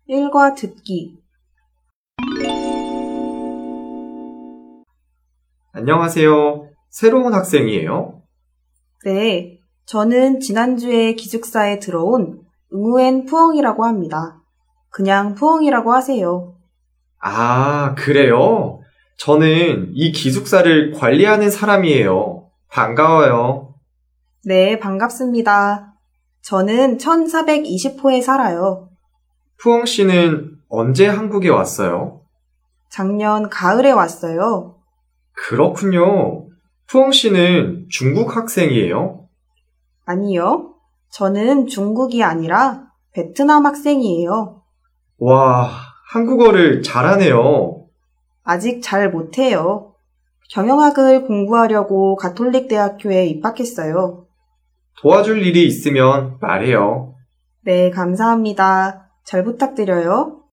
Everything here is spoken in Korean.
일과 듣기. 안녕하세요. 새로운 학생이에요? 네, 저는 지난주에 기숙사에 들어온 응우엔 푸엉이라고 합니다. 그냥 푸엉이라고 하세요. 아, 그래요? 저는 이 기숙사를 관리하는 사람이에요. 반가워요. 네, 반갑습니다. 저는 1420호에 살아요. 푸엉 씨는 언제 한국에 왔어요? 작년 가을에 왔어요. 그렇군요. 푸엉 씨는 중국 학생이에요? 아니요, 저는 중국이 아니라 베트남 학생이에요. 와, 한국어를 잘하네요. 아직 잘 못해요. 경영학을 공부하려고 가톨릭 대학교에 입학했어요. 도와줄 일이 있으면 말해요. 네, 감사합니다. 잘 부탁드려요.